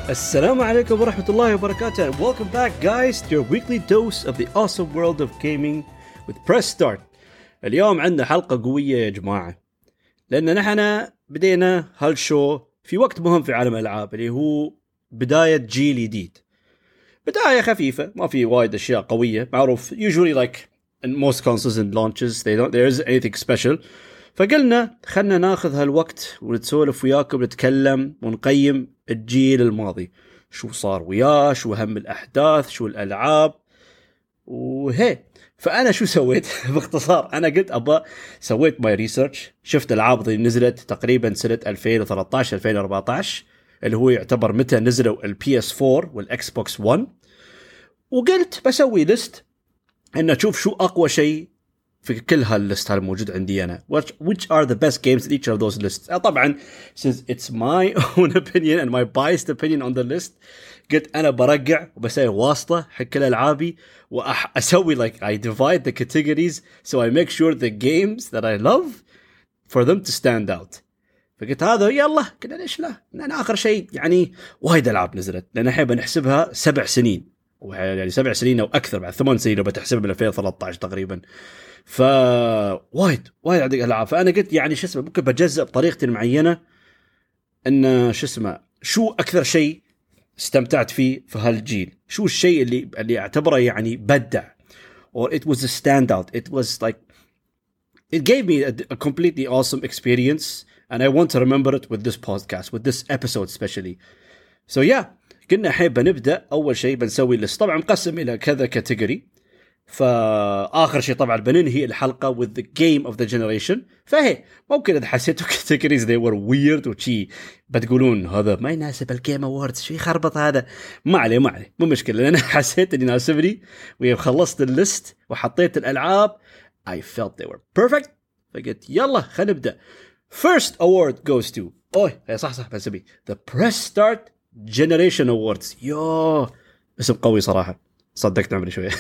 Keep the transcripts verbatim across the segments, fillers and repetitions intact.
Assalamu alaikum wa rahmatullahi wa barakatuh, and welcome back guys to your weekly dose of the awesome world of gaming with Press Start. اليوم عندنا حلقة قوية يا جماعة، لأن نحن بدينا هالشو في وقت مهم في عالم الألعاب اللي هو بداية جيل جديد. بداية خفيفة، ما في وايد أشياء قوية، معروف usually like in most consoles and launches they don't there isn't anything special. فقلنا خلنا ناخذ هالوقت ونتسولف وياكم، نتكلم ونقيم الجيل الماضي، شو صار وياه، شو أهم الأحداث، شو الألعاب وهي. فأنا شو سويت باختصار؟ أنا قلت أبا سويت ماي ريسيرش، شفت الألعاب اللي نزلت تقريبا سنة ألفين وثلاثة عشر ألفين وأربعة عشر اللي هو يعتبر متى نزلوا البي اس فور والإكس بوكس ون، وقلت بسوي ليست إن أشوف شو أقوى شيء في كل هالليست الموجود عندي أنا. Which are the best games in each of those lists. طبعا since it's my own opinion and my biased opinion on the list، قلت أنا برجع وبسوي واسطة حق كل ألعابي وأسوي like I divide the categories so I make sure the games that I love for them to stand out. فقلت هذا يلا كنا ليش لا، أنا آخر شيء يعني وايد ألعاب نزلت، لأن أحب نحسبها سبع سنين، يعني سبع سنين أو أكثر، بعد ثمان سنين لو بتحسبها من ألفين وثلاثة عشر تقريبا. فوايد وايد عندك ألعاب. فأنا قلت يعني شو اسمه ممكن بجزء بطريقة معينة إن شو اسمه شو أكثر شيء استمتعت فيه في هالجيل، شو الشيء اللي اللي أعتبره يعني بدع or it was a standout, it was like it gave me a, a completely awesome experience and I want to remember it with this podcast, with this episode especially. So yeah, قلنا حيب نبدأ. أول شيء بنسوي لست طبعا مقسم إلى كذا كاتيجوري. فآخر شيء طبعا بننهي الحلقة with the game of the generation. فهي ممكن إذا حسيتوا categories they were weird وشي بتقولون هذا ما يناسب الجيم أووردز، شو يخربط هذا، ما عليه ما عليه مو مشكلة، لأن حسيت إني ناسبني وخلصت الليست وحطيت الألعاب I felt they were perfect. فقلت يلا خلينا نبدأ. First award goes to أوه صح صح بنسميه the Press Start Generation Awards. يوه اسم قوي صراحة، صدقت عمري شوية.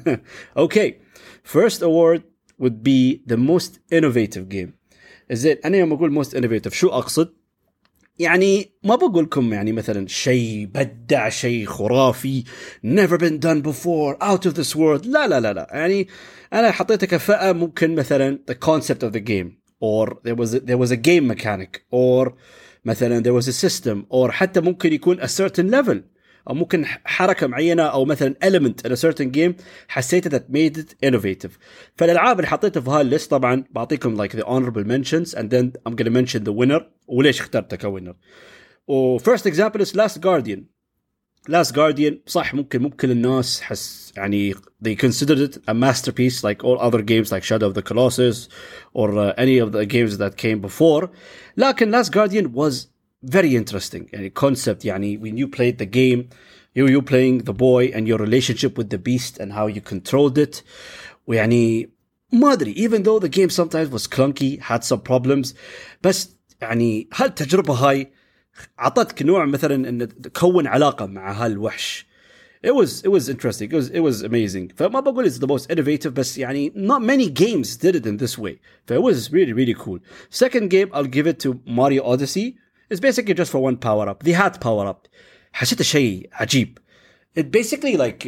Okay, first award would be the most innovative game. زين أنا يوم أقول most innovative شو أقصد؟ يعني ما بقولكم يعني مثلا شيء بدع، شيء خرافي never been done before out of this world، لا لا لا لا. يعني أنا حطيتها كفئة ممكن مثلا the concept of the game or there was a, there was a game mechanic or مثلا there was a system or حتى ممكن يكون a certain level أو ممكن حركة معينة أو مثلا element in a certain game حسيت that made it innovative. فالألعاب اللي حطيتها في هالليست طبعا بعطيكم like the honorable mentions and then I'm gonna mention the winner وليش اخترتها كوينر. و first example is Last Guardian. Last Guardian صح ممكن ممكن الناس حس يعني they considered it a masterpiece like all other games like Shadow of the Colossus or uh, any of the games that came before. لكن Last Guardian was very interesting يعني concept. يعني when you played the game you you playing the boy and your relationship with the beast and how you controlled it. ويعني ما أدري even though the game sometimes was clunky had some problems بس يعني هالتجربة هاي عطتك نوع مثلا إن تكون علاقة مع هالوحش. it was it was interesting, it was it was amazing. فما بقول it's the most innovative بس يعني not many games did it in this way. فit was really really cool. Second game I'll give it to Mario Odyssey. It's basically just for one power up. They had power up. حسيت شيء عجيب. It basically like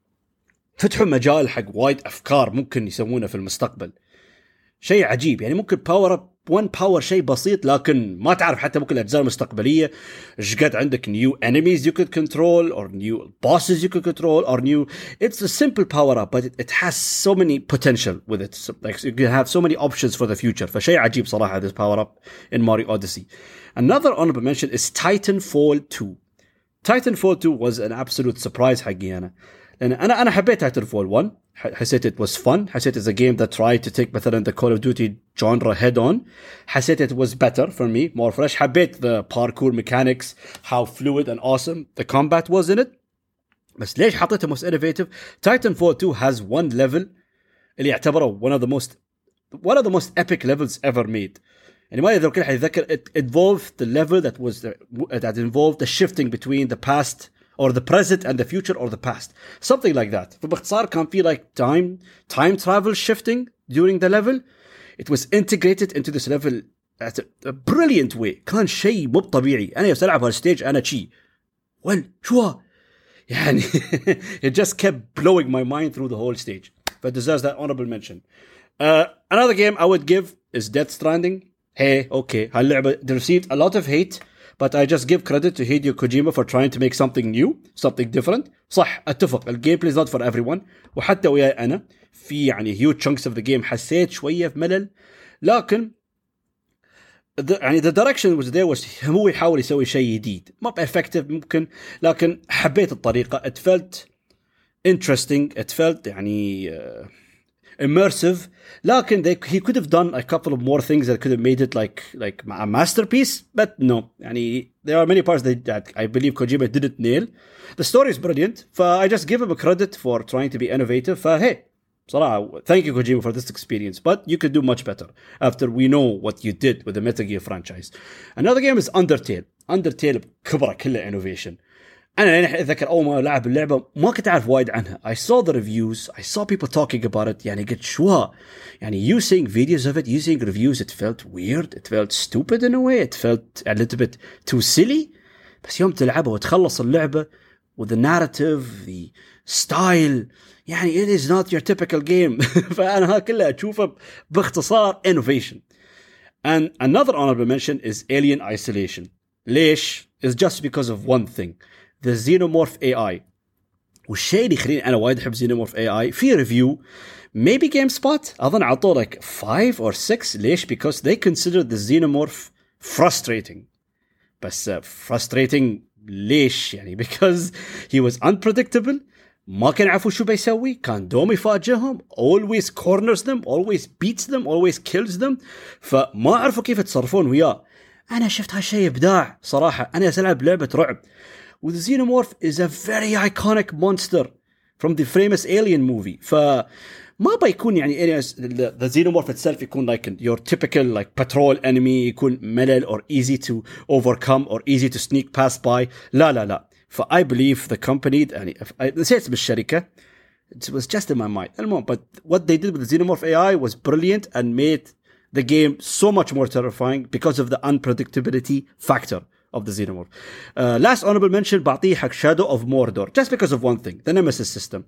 فتحوا مجال حق وايد أفكار ممكن يسوونه في المستقبل. شيء عجيب يعني ممكن power up one power شيء بسيط لكن ما تعرف حتى ممكن الأجزاء المستقبلية إيش قد عندك new enemies you could control or new bosses you could control or new. It's a simple power up but it, it has so many potential with it. So, like you can have so many options for the future. فشيء عجيب صراحة this power up in Mario Odyssey. Another honorable mention is Titanfall two. Titanfall two was an absolute surprise حقي أنا. لأن أنا أنا حبيت Titanfall one. حسيت it was fun. حسيت it's a game that tried to take مثلا the Call of Duty genre head on. حسيت it was better for me, more fresh. حبيت the parkour mechanics, how fluid and awesome the combat was in it. بس ليش حطيته most innovative? Titanfall two has one level اللي يعتبره one of the most one of the most epic levels ever made. يعني ما يذكر حيذكر it involved the level that was that involved the shifting between the past or the present and the future or the past, something like that. فباختصار كان في like time time travel shifting during the level. It was integrated into this level at a, a brilliant way. كان شيء مو طبيعي. أنا يوم ألعب هالستيج أنا شيء well شو يعني it just kept blowing my mind through the whole stage. But deserves that honorable mention. Uh, another game I would give is Death Stranding. Hey, okay, هاللعبة they received a lot of hate, but I just give credit to Hideo Kojima for trying to make something new, something different. صح اتفق الجيم play is not for everyone, وحتى وياي أنا في يعني huge chunks of the game حسيت شوية في ملل, لكن the, يعني the direction was there was هو يحاول يسوي شيء جديد, ما effective ممكن, لكن حبيت الطريقة. it felt interesting, it felt يعني uh, immersive, لكن they, he could have done a couple of more things that could have made it like like a masterpiece, but no, يعني there are many parts that, that I believe Kojima didn't nail. The story is brilliant, so I just give him a credit for trying to be innovative. So hey, صراحة, thank you Kojima for this experience, but you could do much better after we know what you did with the Metal Gear franchise. Another game is Undertale. Undertale بكبرة كلها innovation. أنا يعني أتذكر أول ما لعب اللعبة ما كنت أعرف وايد عنها. I saw the reviews, I saw people talking about it. يعني قلت شو يعني you seeing videos of it, you seeing reviews, it felt weird, it felt stupid in a way, it felt a little bit too silly. بس يوم تلعبها وتخلص اللعبة with the narrative, the style, يعني it is not your typical game. فأنا ها كلها أشوفه باختصار innovation. And another honorable mention is Alien Isolation. ليش؟ It's just because of one thing. The Xenomorph A I. والشيء اللي يخليني أنا وايد أحب Xenomorph A I في review maybe GameSpot أظن عطوه like five or six. ليش؟ Because they consider the Xenomorph frustrating. بس uh, frustrating ليش يعني؟ because he was unpredictable, ما كان يعرفوا شو بيسوي, كان دوم يفاجئهم, always corners them, always beats them, always kills them, فما عرفوا كيف يتصرفون وياه. أنا شفت هالشيء إبداع صراحة. أنا ألعب لعبة رعب, with Xenomorph is a very iconic monster from the famous Alien movie. فما بيكون يعني the, the Xenomorph itself يكون like your typical like patrol enemy, يكون ملل or easy to overcome or easy to sneak past by. لا لا لا. ف I believe the company يعني نسيت بالشركة, it was just in my mind. But what they did with the Xenomorph A I was brilliant and made the game so much more terrifying because of the unpredictability factor of the Xenomorph. Uh, last honorable mention بعطيه حق Shadow of Mordor, just because of one thing, the Nemesis system.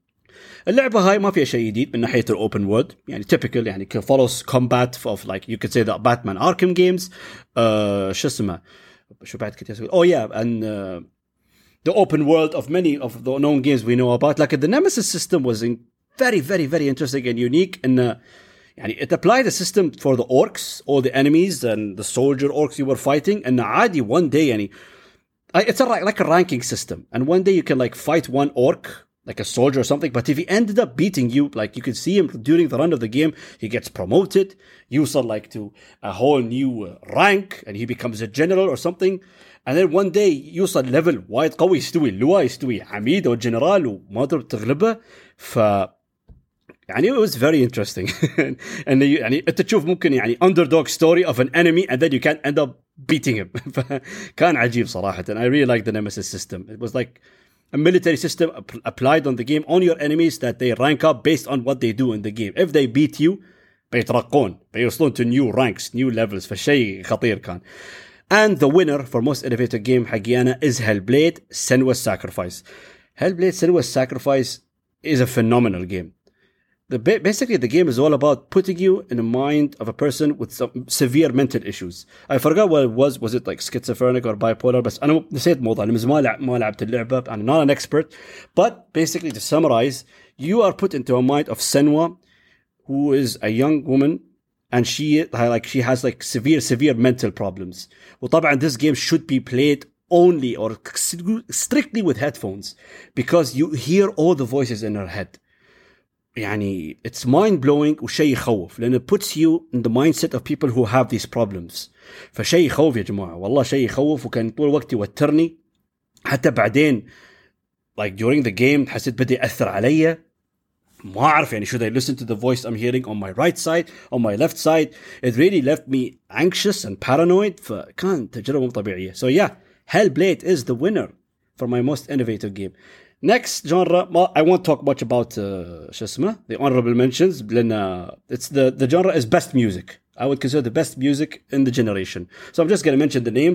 اللعبة هاي ما فيها شيء جديد من ناحية الأوبن وورد, يعني typical, يعني follows combat of like you could say the Batman Arkham games. uh, شو اسمه شو بعد كنت أسوي oh yeah and uh, the open world of many of the known games we know about. Like the Nemesis system was in very very very interesting and unique, and uh, يعني it applied a system for the orcs, all the enemies and the soldier orcs you were fighting, and عادي one day يعني it's a, like a ranking system, and one day you can like fight one orc like a soldier or something, but if he ended up beating you, like you can see him during the run of the game, he gets promoted, يوصل like to a whole new uh, rank, and he becomes a general or something, and then one day يوصل level وايد قوي, يستوي اللواء, يستوي عميد أو جنرال وما تقدر تغلبه. ف يعني it was very interesting. and يعني أنت تشوف ممكن يعني underdog story of an enemy and then you can end up beating him. كان عجيب صراحة. And I really like the Nemesis system. It was like a military system applied on the game on your enemies that they rank up based on what they do in the game. If they beat you بيترقون, بيوصلون to new ranks, new levels. فشيء خطير كان. And the winner for most innovative game حقي أنا is Hellblade: Senua's Sacrifice. Hellblade: Senua's Sacrifice is a phenomenal game. The, basically, the game is all about putting you in the mind of a person with some severe mental issues. I forgot what it was. Was it like schizophrenic or bipolar? But أنا نسيت الموضوع. أنا ما لعب ما لعبت اللعبة. I'm not an expert. But basically, to summarize, you are put into a mind of Senua, who is a young woman, and she like she has like severe severe mental problems. وطبعا this game should be played only or strictly with headphones because you hear all the voices in her head. يعني it's mind blowing وشيء يخوف لأن it puts you in the mindset of people who have these problems. فشيء يخوف يا جماعة, والله شيء يخوف, وكان طول الوقت يوترني. حتى بعدين like during the game حسيت بدي أثر علي, ما أعرف يعني should I listen to the voice I'm hearing on my right side, on my left side. It really left me anxious and paranoid. فكان تجربة مو طبيعية. So yeah, Hellblade is the winner for my most innovative game. Next genre, I won't talk much about uh, شو اسمه, the honorable mentions, لأن it's the, the genre is best music. I would consider the best music in the generation. So I'm just going to mention the names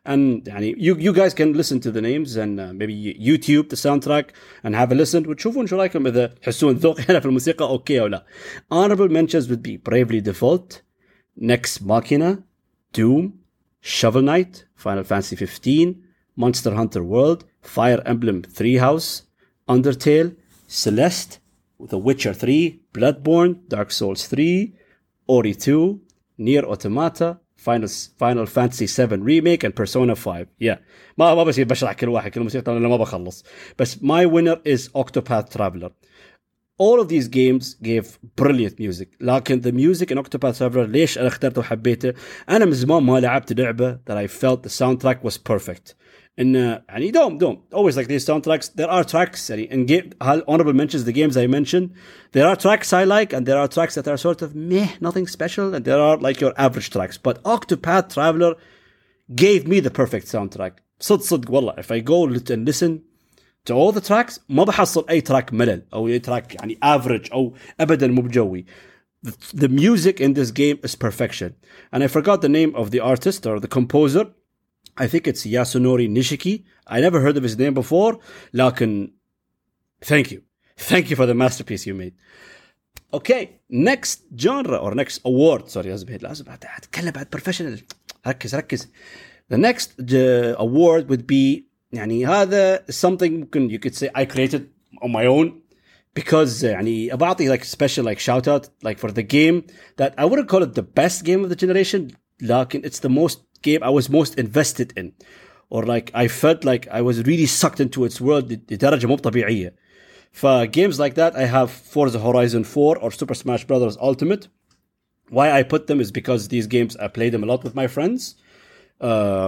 and يعني you you guys can listen to the names and uh, maybe YouTube the soundtrack and have a listen وتشوفون شو رايكم إذا تحسون ذوقي أنا في الموسيقى أوكي أو لا. Honorable mentions would be Bravely Default, Nex Machina, Doom, Shovel Knight, Final Fantasy fifteen, Monster Hunter World, Fire Emblem Three House, Undertale, Celeste, The Witcher three, Bloodborne, Dark Souls three, Ori two, Nier Automata, Final Final Fantasy seven Remake and Persona five. Yeah. ما ما بصير بشرح كل واحد كل موسيقى لأنه ما بخلص. بس my winner is Octopath Traveler. All of these games gave brilliant music. لكن the music in Octopath Traveler ليش أنا اخترته وحبيته؟ أنا من زمان ما لعبت لعبة that I felt the soundtrack was perfect. إن يعني دوم دوم always like these soundtracks there are tracks يعني in game honorable mentions the games I mentioned there are tracks I like and there are tracks that are sort of meh nothing special and there are like your average tracks but Octopath Traveler gave me the perfect soundtrack. صدق صدق والله if I go and listen to all the tracks ما بحصل أي track ملل أو أي track يعني average أو أبدا مو بجوي. The, the music in this game is perfection and I forgot the name of the artist or the composer. I think it's Yasunori Nishiki. I never heard of his name before. لكن thank you. Thank you for the masterpiece you made. Okay, next genre or next award. Sorry, أزبهد لازم أتكلم بعد professional. ركز ركز. The next uh, award would be يعني هذا something ممكن you could say I created on my own because uh, يعني أبعطي like special like shout out like for the game that I wouldn't call it the best game of the generation. لكن it's the most game I was most invested in or like I felt like I was really sucked into its world لدرجة مو طبيعية. For games like that I have Forza Horizon four or Super Smash Bros. Ultimate. Why I put them is because these games I played them a lot with my friends uh,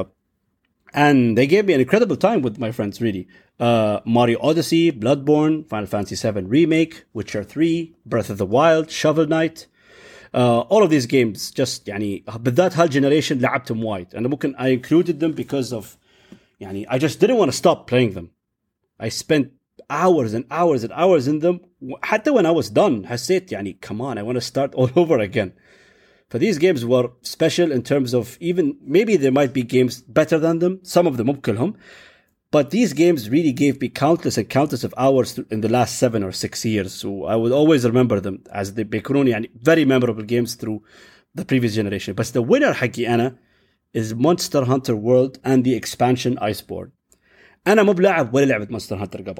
and they gave me an incredible time with my friends really. Uh, Mario Odyssey, Bloodborne, Final Fantasy seven Remake, Witcher three, Breath of the Wild, Shovel Knight. Uh, all of these games just يعني بالذات هالجنريشن لعبتهم وايد. أنا ممكن I included them because of يعني I just didn't want to stop playing them. I spent hours and hours and hours in them. حتى when I was done حسيت يعني come on I want to start all over again. For these games were special in terms of even maybe there might be games better than them. Some of them مو كلهم. But these games really gave me countless and countless of hours in the last seven or six years. So I would always remember them as they بيكونون يعني very memorable games through the previous generation. But the winner حقي أنا is Monster Hunter World and the expansion Iceborne. أنا مو بلاعب ولا لعبة Monster Hunter قبل.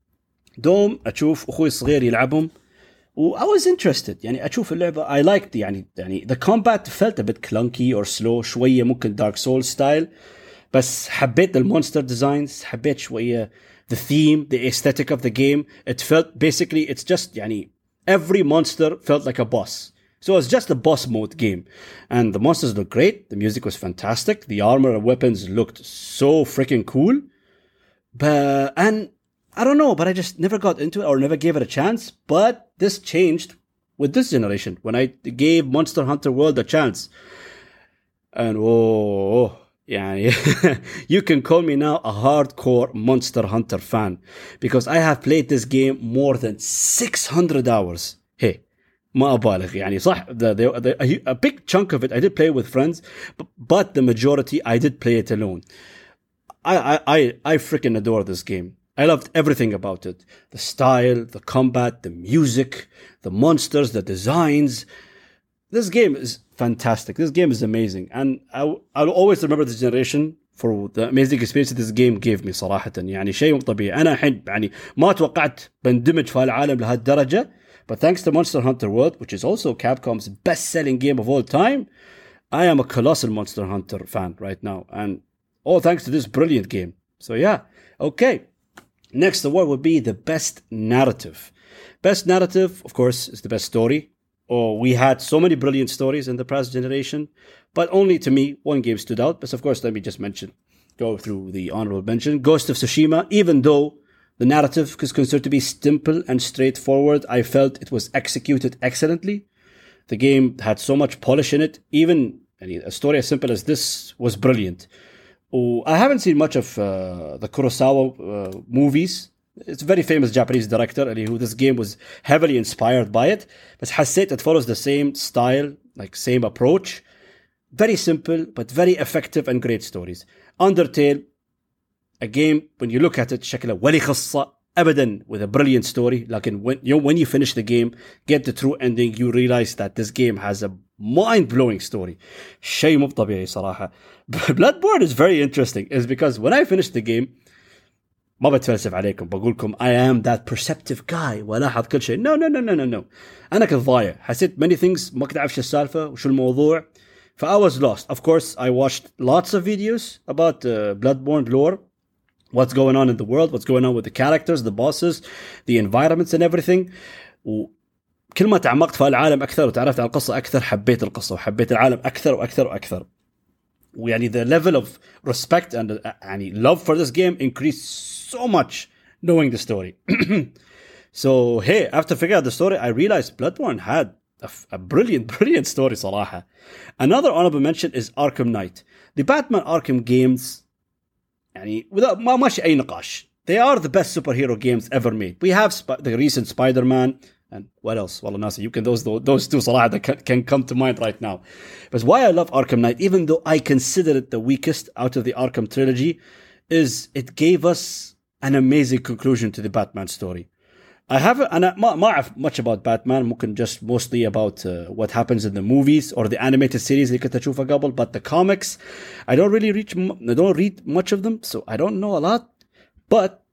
دوم أشوف أخوي الصغير يلعبهم و I was interested. يعني أشوف اللعبة I liked يعني يعني the combat felt a bit clunky or slow شوية ممكن Dark Souls style. بس حبيت المونستر ديزاينز حبيت شوية the theme the aesthetic of the game it felt basically it's just يعني every monster felt like a boss so it's just a boss mode game and the monsters looked great the music was fantastic the armor and weapons looked so freaking cool but and I don't know but I just never got into it or never gave it a chance but this changed with this generation when I gave Monster Hunter World a chance and oh يعني you can call me now a hardcore Monster Hunter fan because I have played this game more than six hundred hours. Hey, ما أبالغ يعني صح the, the, the, a big chunk of it I did play with friends but, but the majority I did play it alone. I, I, I, I freaking adore this game. I loved everything about it. The style, the combat, the music, the monsters, the designs. This game is fantastic. This game is amazing. And I, I'll always remember this generation for the amazing experience this game gave me صراحة. يعني شيء مو طبيعي. أنا الحين يعني ما توقعت بندمج في هالعالم لهالدرجة. But thanks to Monster Hunter World, which is also Capcom's best-selling game of all time, I am a colossal Monster Hunter fan right now. And all thanks to this brilliant game. So yeah, okay. Next award would be the best narrative. Best narrative, of course, is the best story. Oh, we had so many brilliant stories in the past generation, but only to me, one game stood out. But of course, let me just mention, go through the honorable mention. Ghost of Tsushima, even though the narrative is considered to be simple and straightforward, I felt it was executed excellently. The game had so much polish in it. Even a story as simple as this was brilliant. Oh, I haven't seen much of uh, the Kurosawa uh, movies. It's a very famous Japanese director who this game was heavily inspired by it. But حسيت it follows the same style, like same approach. very simple but very effective and great stories. Undertale, a game when you look at it شكله ولا خصة أبدا, with a brilliant story. لكن when you when you finish the game, get the true ending, you realize that this game has a mind-blowing story. شيء مو طبيعي صراحة. Bloodborne is very interesting is because when I finished the game, ما بتفلسف عليكم بقولكم I am that perceptive guy ولاحظ كل شيء. No no no no no no. أنا كنت ضايع, حسيت many things ما كنت أعرف شو السالفة وشو الموضوع. ف I was lost. Of course I watched lots of videos about uh, Bloodborne lore, what's going on in the world, what's going on with the characters, the bosses, the environments and everything. وكل ما تعمقت في العالم أكثر وتعرفت عن القصة أكثر, حبيت القصة وحبيت العالم أكثر وأكثر وأكثر. ويعني the level of respect and uh, يعني love for this game increased so much knowing the story. So hey, after figuring out the story, I realized Bloodborne had a, a brilliant, brilliant story صراحة. Another honorable mention is Arkham Knight. The Batman Arkham games, يعني without ما ماشي أي نقاش, they are the best superhero games ever made. We have sp- the recent Spider-Man and what else? Well, Nasi, you can those those two صراحة that can, can come to mind right now. But why I love Arkham Knight, even though I consider it the weakest out of the Arkham trilogy, is it gave us an amazing conclusion to the Batman story. I haven't, أنا ما ما أعرف much about Batman, ممكن just mostly about uh, what happens in the movies or the animated series اللي كنت أشوفها قبل, but the comics, I don't really reach, I don't read much of them, so I don't know a lot. But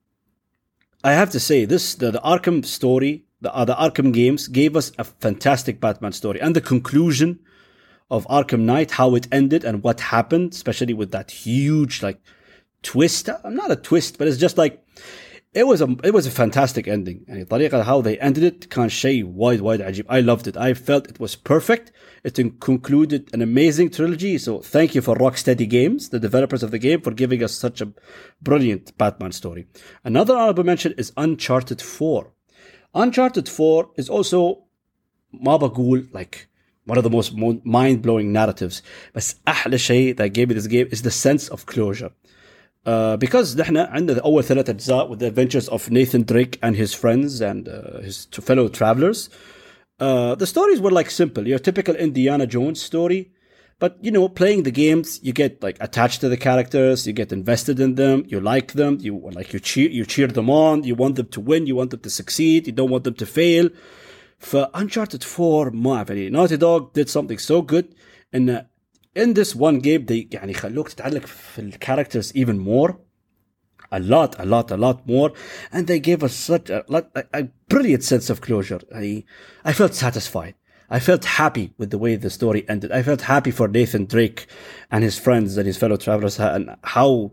I have to say, this the, the Arkham story, the uh, the Arkham games gave us a fantastic Batman story, and the conclusion of Arkham Knight, how it ended and what happened, especially with that huge like twist. I'm not a twist, but it's just like it was a it was a fantastic ending. And الطريقة how they ended it كان شيء وايد وايد عجيب. I loved it. I felt it was perfect. It concluded an amazing trilogy. So thank you for Rocksteady Games, the developers of the game, for giving us such a brilliant Batman story. Another honorable mention is Uncharted four. Uncharted four is also ما بقول like one of the most mind-blowing narratives. بس أحلى شيء that gave me this game is the sense of closure. Uh, because نحن عندنا أول ثلاث أجزاء with the adventures of Nathan Drake and his friends and uh, his fellow travelers. Uh, the stories were like simple, your typical Indiana Jones story. But, you know, playing the games, you get like attached to the characters, you get invested in them, you like them, you like you cheer, you cheer them on, you want them to win, you want them to succeed, you don't want them to fail. For Uncharted four, ما أعرف, Naughty Dog did something so good, and uh, in this one game they يعني خلوك تتعلق في الكاركترز even more, a lot, a lot, a lot more, and they gave us such a, a, a brilliant sense of closure. I, I felt satisfied. I felt happy with the way the story ended. I felt happy for Nathan Drake and his friends and his fellow travelers, and how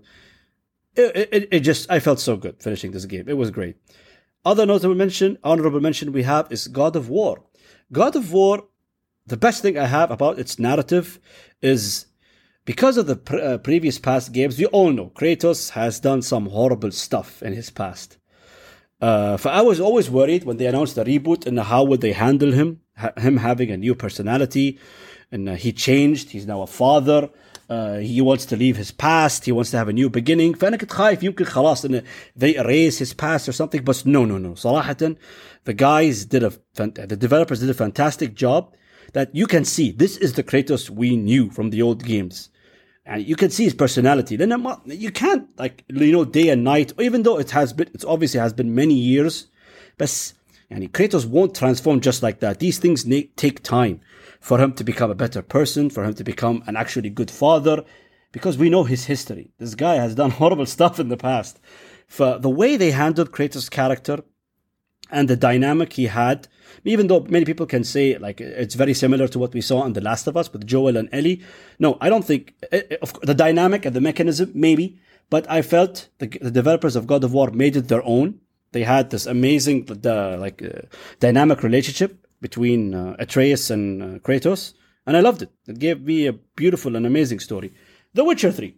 it, it, it just, I felt so good finishing this game. It was great. Other notable mention, honorable mention we have is God of War. God of War, the best thing I have about its narrative is because of the pre- uh, previous past games, we all know Kratos has done some horrible stuff in his past. Uh, for I was always worried when they announced the reboot and how would they handle him, ha- him having a new personality, and uh, he changed. He's now a father. Uh, he wants to leave his past. He wants to have a new beginning. فأنا كنت خايف يمكن خلاص إنه they erase his past or something. But no, no, no. صراحة, the guys did a the developers did a fantastic job. That you can see this is the Kratos we knew from the old games. And you can see his personality. Then you can't, like, you know, day and night, even though it has been, it's obviously has been many years, but yani, Kratos won't transform just like that. These things na- take time for him to become a better person, for him to become an actually good father, because we know his history. This guy has done horrible stuff in the past. For the way they handled Kratos' character and the dynamic he had, even though many people can say like it's very similar to what we saw in The Last of Us with Joel and Ellie. No, I don't think of the dynamic and the mechanism, maybe, but I felt the, the developers of God of War made it their own. They had this amazing the, like uh, dynamic relationship between uh, Atreus and uh, Kratos, and I loved it. It gave me a beautiful and amazing story. The Witcher three.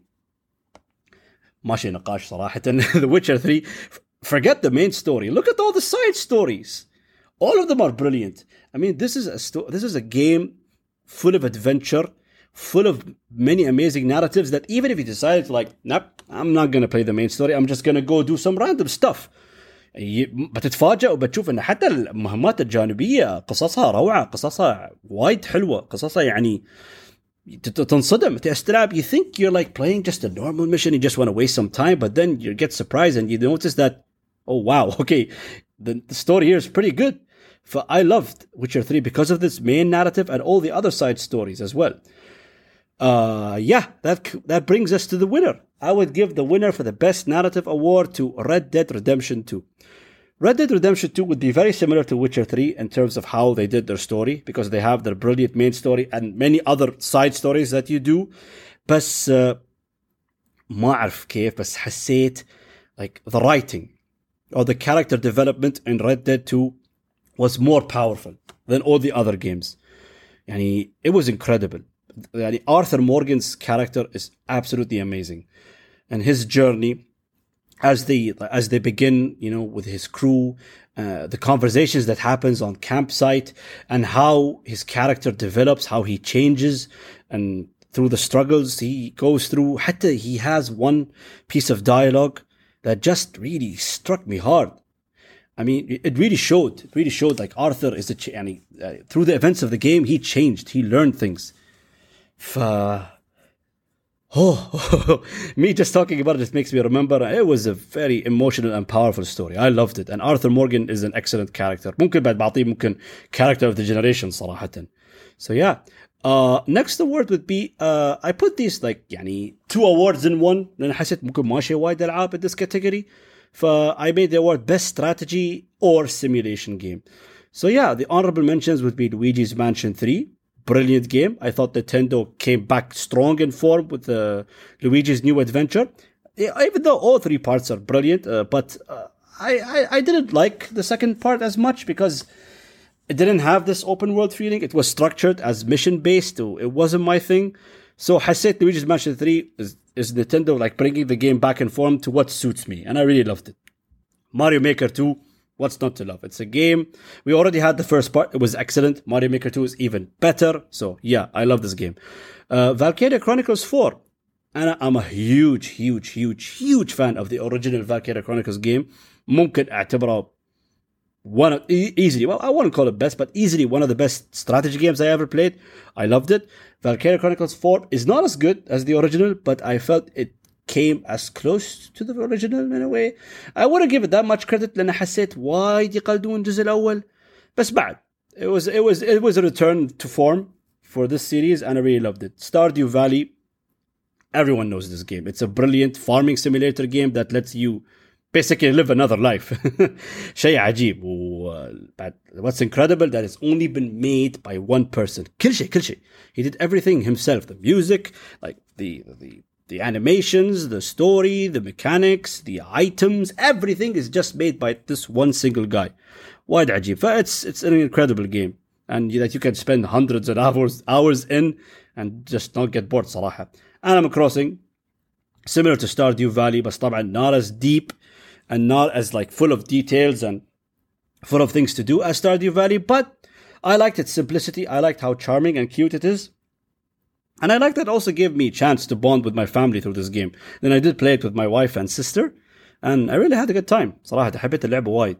ماشي نقاش صراحة. The Witcher three. Forget the main story. Look at all the side stories. All of them are brilliant. I mean, this is a sto- this is a game full of adventure, full of many amazing narratives that even if you decide to like, nope, I'm not going to play the main story, I'm just going to go do some random stuff. بتتفاجأ وبتشوف ان حتى المهمات الجانبية قصصها روعة، قصصها وايد حلوة، قصصها يعني تنصدم تستلعب. You think you're like playing just a normal mission, you just want to waste some time, but then you get surprised and you notice that, oh wow, okay, the, the story here is pretty good. For I loved Witcher three because of this main narrative and all the other side stories as well. Uh, yeah, that that brings us to the winner. I would give the winner for the best narrative award to Red Dead Redemption two. Red Dead Redemption two would be very similar to Witcher three in terms of how they did their story, because they have their brilliant main story and many other side stories that you do. بس uh, ما أعرف كيف بس حسيت like the writing or the character development in Red Dead two was more powerful than all the other games. يعني it was incredible. يعني Arthur Morgan's character is absolutely amazing, and his journey as they as they begin, you know, with his crew, uh, the conversations that happens on campsite, and how his character develops, how he changes, and through the struggles he goes through. حتى he has one piece of dialogue that just really struck me hard. I mean, it really showed. It really showed like Arthur is a ch- يعني, uh, through the events of the game, he changed. He learned things. ف Oh, me just talking about it just makes me remember it was a very emotional and powerful story. I loved it, and Arthur Morgan is an excellent character. ممكن بعد بعطيه ممكن character of the generation صراحة. So yeah, uh, next award would be uh, I put these like يعني two awards in one لأن حسيت ممكن ماشي وايد ألعاب in this category. ف I made the award best strategy or simulation game. So yeah, the honorable mentions would be Luigi's Mansion three. Brilliant game. I thought Nintendo came back strong in form with uh, Luigi's New Adventure. Even though all three parts are brilliant, uh, but uh, I, I, I didn't like the second part as much because it didn't have this open world feeling. It was structured as mission based. It wasn't my thing. So حسيت Luigi's Mansion three is, is Nintendo like bringing the game back in form to what suits me, and I really loved it. Mario Maker two. What's not to love? It's a game. We already had the first part. It was excellent. Mario Maker two is even better. So yeah, I love this game. Uh, Valkyria Chronicles four. And I'm a huge, huge, huge, huge fan of the original Valkyria Chronicles game. ممكن اعتبره one of, e- easily, well, I wouldn't call it best, but easily one of the best strategy games I ever played. I loved it. Valkyria Chronicles four is not as good as the original, but I felt it came as close to the original in a way. I wouldn't give it that much credit لأن حسيت وايد يقلدون الجزء الأول. بس بعد it was it was it was a return to form for this series, and I really loved it. Stardew Valley. Everyone knows this game. It's a brilliant farming simulator game that lets you basically live another life. شيء عجيب. But what's incredible that it's only been made by one person. كل شيء كل شيء. He did everything himself. The music, like the the The animations, the story, the mechanics, the items, everything is just made by this one single guy. وايد عجيب. It's it's an incredible game, and that you can spend hundreds of hours hours in and just not get bored صراحة. Animal Crossing, similar to Stardew Valley, but طبعا not as deep and not as like full of details and full of things to do as Stardew Valley. But I liked its simplicity. I liked how charming and cute it is. And I like that also gave me a chance to bond with my family through this game. Then I did play it with my wife and sister, and I really had a good time. صراحة حبيت اللعبة وايد.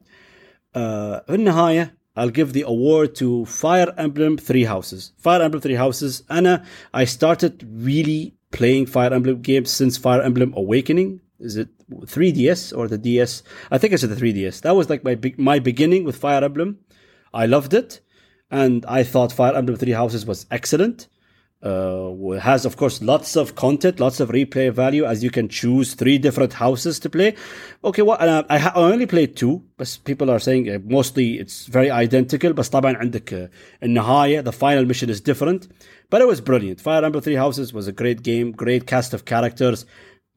Uh, في النهاية, I'll give the award to Fire Emblem Three Houses. Fire Emblem Three Houses. أنا I started really playing Fire Emblem games since Fire Emblem Awakening. Is it three D S or the D S? I think it's the three D S. That was like my my beginning with Fire Emblem. I loved it, and I thought Fire Emblem Three Houses was excellent. Uh, it has, of course, lots of content, lots of replay value, as you can choose three different houses to play. Okay, well, uh, I, ha- I only played two, but people are saying uh, mostly it's very identical. But طبعا عندك uh, النهاية, the final mission is different. But it was brilliant. Fire Emblem Three Houses was a great game, great cast of characters,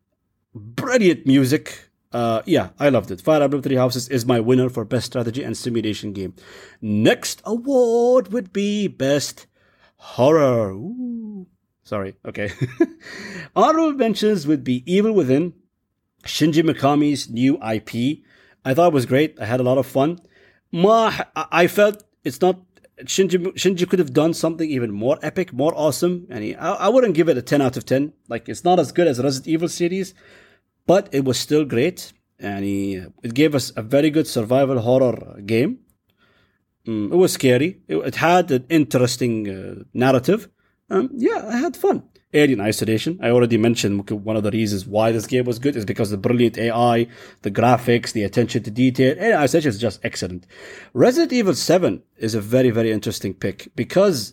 brilliant music. Uh, yeah, I loved it. Fire Emblem Three Houses is my winner for best strategy and simulation game. Next award would be best horror. Ooh. Sorry. Okay. Honorable mentions would be Evil Within, Shinji Mikami's new I P. I thought it was great. I had a lot of fun. Ma, I felt it's not. Shinji, Shinji could have done something even more epic, more awesome. And he, I, I wouldn't give it a ten out of ten. Like, it's not as good as Resident Evil series, but it was still great. And he, it gave us a very good survival horror game. Mm, it was scary. It, it had an interesting uh, narrative, Um, yeah, I had fun. Alien Isolation. I already mentioned one of the reasons why this game was good is because of the brilliant A I, the graphics, the attention to detail. Alien Isolation is just excellent. Resident Evil seven is a very, very interesting pick because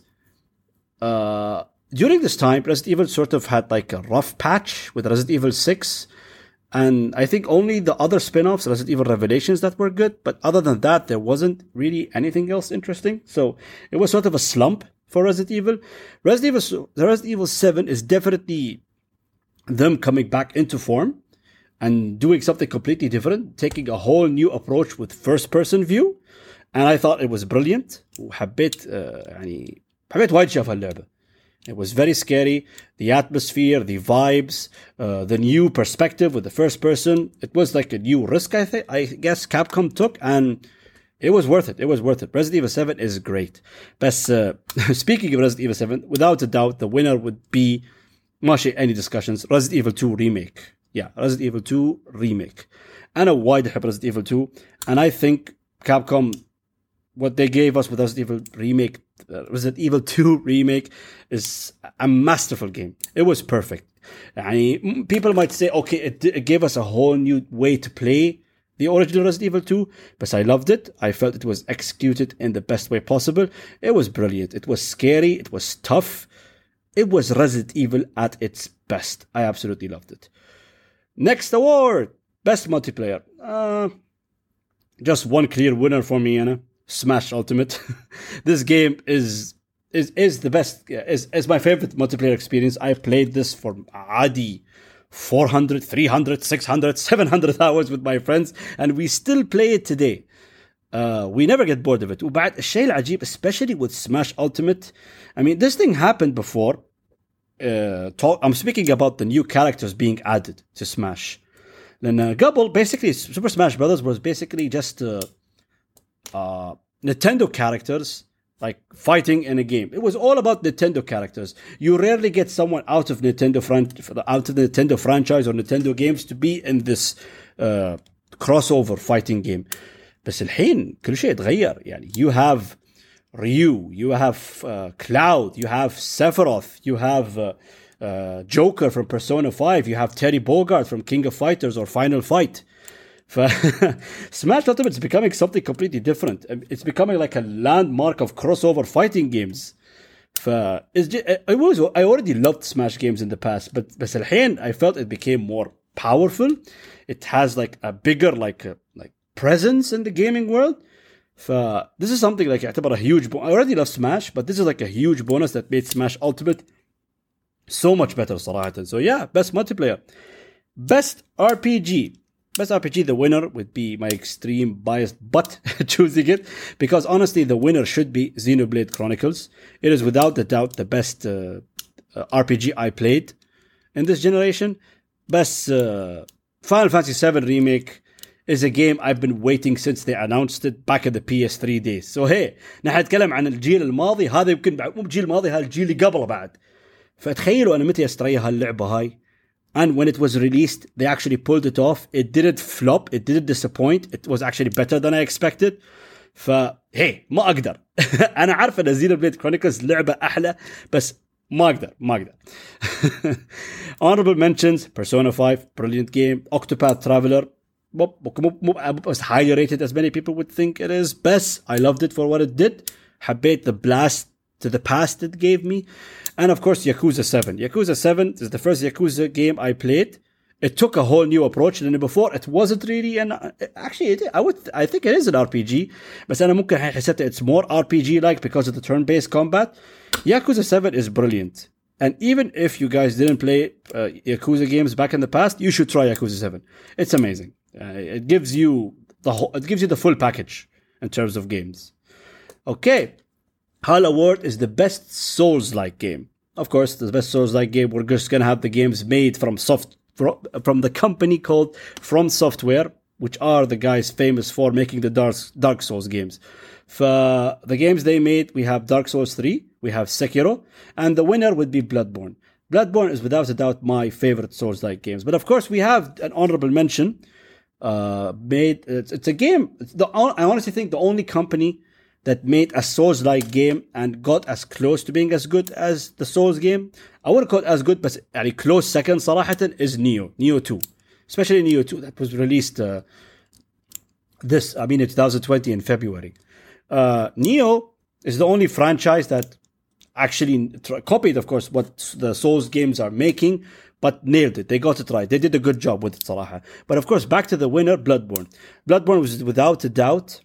uh, during this time, Resident Evil sort of had like a rough patch with Resident Evil six. And I think only the other spin-offs, Resident Evil Revelations, that were good. But other than that, there wasn't really anything else interesting. So it was sort of a slump for Resident Evil. Resident Evil, Resident Evil seven is definitely them coming back into form and doing something completely different, taking a whole new approach with first-person view. And I thought it was brilliant. وحبيت يعني حبيت وايد شاف هاللعبة. It was very scary. The atmosphere, the vibes, uh, the new perspective with the first person. It was like a new risk, I think. I guess Capcom took, and it was worth it. It was worth it. Resident Evil seven is great. But uh, speaking of Resident Evil seven, without a doubt, the winner would be, ماشي any discussions, Resident Evil two remake. Yeah, Resident Evil two remake. أنا وايد أحب Resident Evil two, and I think Capcom, what they gave us with Resident Evil remake, uh, Resident Evil two remake, is a masterful game. It was perfect. يعني, people might say, okay, it, it gave us a whole new way to play the original Resident Evil two, but I loved it. I felt it was executed in the best way possible. It was brilliant. It was scary. It was tough. It was Resident Evil at its best. I absolutely loved it. Next award, best multiplayer. Uh, just one clear winner for me, Anna. Smash Ultimate. This game is is is the best. Is is my favorite multiplayer experience. I played this for Adi. four hundred, three hundred, six hundred, seven hundred hours with my friends, and we still play it today. Uh, we never get bored of it. وبعد الشيء العجيب, especially with Smash Ultimate, I mean, this thing happened before. Uh, talk, I'm speaking about the new characters being added to Smash. لأن قبل, basically, Super Smash Brothers was basically just uh, uh, Nintendo characters like fighting in a game. It was all about Nintendo characters. You rarely get someone out of Nintendo fran- out of the Nintendo franchise or Nintendo games to be in this uh, crossover fighting game. بس الحين كل شيء اتغير. يعني you have Ryu, you have uh, Cloud, you have Sephiroth, you have uh, uh, Joker from Persona five, you have Terry Bogard from King of Fighters or Final Fight. Smash Ultimate is becoming something completely different. It's becoming like a landmark of crossover fighting games. It's just, I, was, I already loved Smash games in the past, but بس الحين I felt it became more powerful. It has like a bigger like a, like presence in the gaming world. This is something like يعتبر a huge bonus. I already love Smash, but this is like a huge bonus that made Smash Ultimate so much better صراحة. So yeah, best multiplayer. Best R P G. Best R P G, the winner would be my extreme bias, but choosing it because honestly, the winner should be Xenoblade Chronicles. It is without a doubt the best uh, uh, R P G I played in this generation. Best uh, Final Fantasy seven Remake is a game I've been waiting since they announced it back in the P S three days. So hey, نحن نتكلم عن الجيل الماضي, هذا يمكن مو الجيل الماضي, هذا الجيل اللي قبله بعد. فتخيلوا أنا متى أشتري هاللعبة هاي. And when it was released, they actually pulled it off. It didn't flop. It didn't disappoint. It was actually better than I expected. فهي ما أقدر. أنا عارف أن Xenoblade Chronicles لعبة أحلى, بس ما أقدر ما أقدر. Honorable mentions: Persona five, brilliant game. Octopath Traveler, was highly rated as many people would think it is. Best, I loved it for what it did. حبيت the blast to the past it gave me. And of course, Yakuza seven. Yakuza seven is the first Yakuza game I played. It took a whole new approach. And before, it wasn't really an... Actually, it, I would, I think it is an R P G. But أنا ممكن حسيت it's more R P G-like because of the turn-based combat. Yakuza seven is brilliant. And even if you guys didn't play uh, Yakuza games back in the past, you should try Yakuza seven. It's amazing. Uh, it gives you the whole, it gives you the full package in terms of games. Okay. HAL Award is the best Souls-like game. Of course, the best Souls-like game, we're just going to have the games made from soft from the company called From Software, which are the guys famous for making the Dark, Dark Souls games. For the games they made, we have Dark Souls three, we have Sekiro, and the winner would be Bloodborne. Bloodborne is without a doubt my favorite Souls-like games. But of course, we have an honorable mention. Uh, made it's, it's a game. It's the I honestly think the only company that made a Souls-like game and got as close to being as good as the Souls game. I wouldn't call it as good, but يعني close second صراحة is Neo, Neo two. Especially Neo two that was released uh, this, I mean, in twenty twenty in February. Uh, Neo is the only franchise that actually tra- copied, of course, what the Souls games are making, but nailed it. They got it right. They did a good job with it, صراحة. But of course, back to the winner, Bloodborne. Bloodborne was without a doubt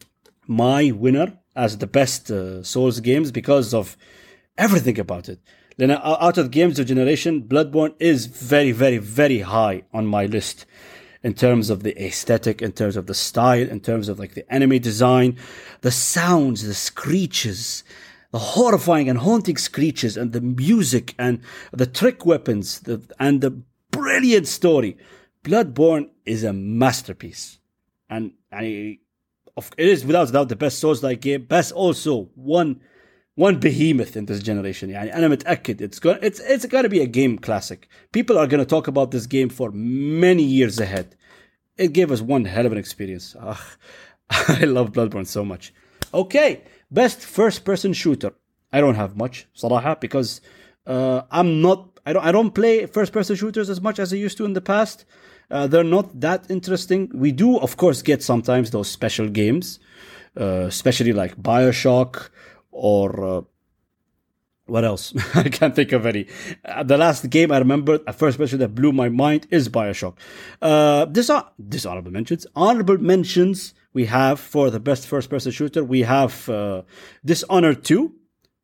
my winner as the best uh, Souls games because of everything about it. Then out of games of generation, Bloodborne is very, very, very high on my list in terms of the aesthetic, in terms of the style, in terms of like the enemy design, the sounds, the screeches, the horrifying and haunting screeches, and the music and the trick weapons, the, and the brilliant story. Bloodborne is a masterpiece, and I. It is without doubt the best Souls-like game, best also one one behemoth in this generation. يعني أنا متأكد it's going it's it's going to be a game classic. People are going to talk about this game for many years ahead. It gave us one hell of an experience. Ugh, I love Bloodborne so much. Okay, best first-person shooter. I don't have much صراحة because uh, I'm not I don't I don't play first-person shooters as much as I used to in the past. Uh, they're not that interesting. We do, of course, get sometimes those special games, uh, especially like BioShock or uh, what else? I can't think of any. Uh, the last game I remember, a first person that blew my mind is BioShock. Uh, this are dishonorable mentions. Honorable mentions we have for the best first-person shooter. We have uh, Dishonored two,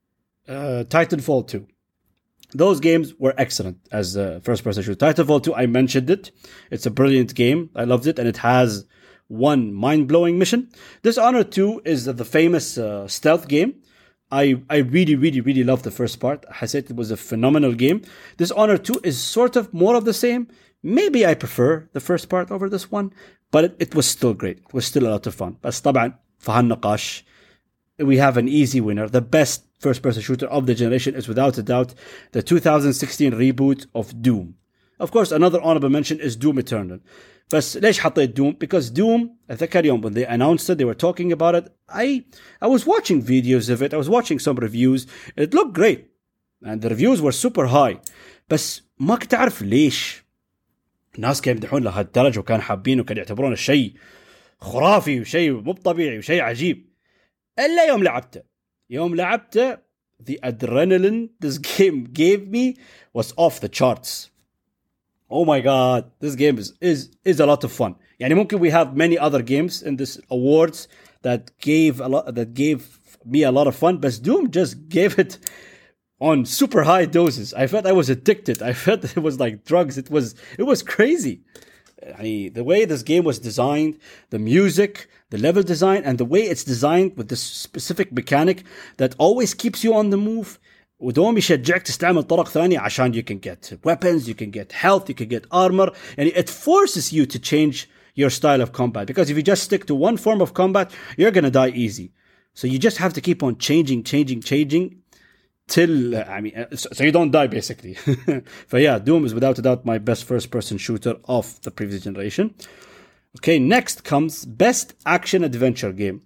uh, Titanfall two. Those games were excellent as a first-person shooter. Titanfall two, I mentioned it. It's a brilliant game. I loved it, and it has one mind-blowing mission. Dishonored two is the famous uh, stealth game. I, I really, really, really love the first part. I said it was a phenomenal game. Dishonored two is sort of more of the same. Maybe I prefer the first part over this one, but it, it was still great. It was still a lot of fun. بس طبعا في هالنقاش we have an easy winner. The best first-person shooter of the generation is without a doubt the two thousand sixteen reboot of Doom. Of course, another honorable mention is Doom Eternal. بس ليش حطيت Doom? Because Doom, أتذكر يوم when they announced it, they were talking about it. I I was watching videos of it. I was watching some reviews. It looked great. And the reviews were super high. بس ما كنت أعرف ليش الناس كانوا يمدحون لهالدرجة وكانوا حابين وكانوا يعتبرونه شيء خرافي وشيء مو طبيعي وشيء عجيب. إلا يوم لعبته. يوم لعبته, the adrenaline this game gave me was off the charts. Oh my god, this game is is is a lot of fun. يعني ممكن we have many other games in this awards that gave a lot that gave me a lot of fun, but Doom just gave it on super high doses. I felt I was addicted. I felt it was like drugs. It was it was crazy. I mean, the way this game was designed, the music, the level design, and the way it's designed with this specific mechanic that always keeps you on the move. ودوم يشجعك تستعمل طرق ثانية عشان you can get weapons, you can get health, you can get armor, and it forces you to change your style of combat. Because if you just stick to one form of combat, you're gonna die easy. So you just have to keep on changing, changing, changing till uh, I mean, so, so you don't die basically. But yeah, Doom is without a doubt my best first-person shooter of the previous generation. Okay, next comes best action adventure game.